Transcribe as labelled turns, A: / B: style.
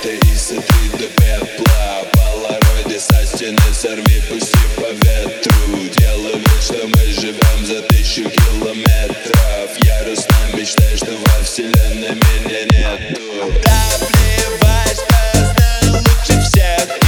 A: света и сотри до пепла. Полароиды со стены сорви, пусти по ветру. Делай вид, что мы живем за 1000 километров. Яростно мечтаю, что во вселенной меня нету. Да плевать, что знаю лучше всех.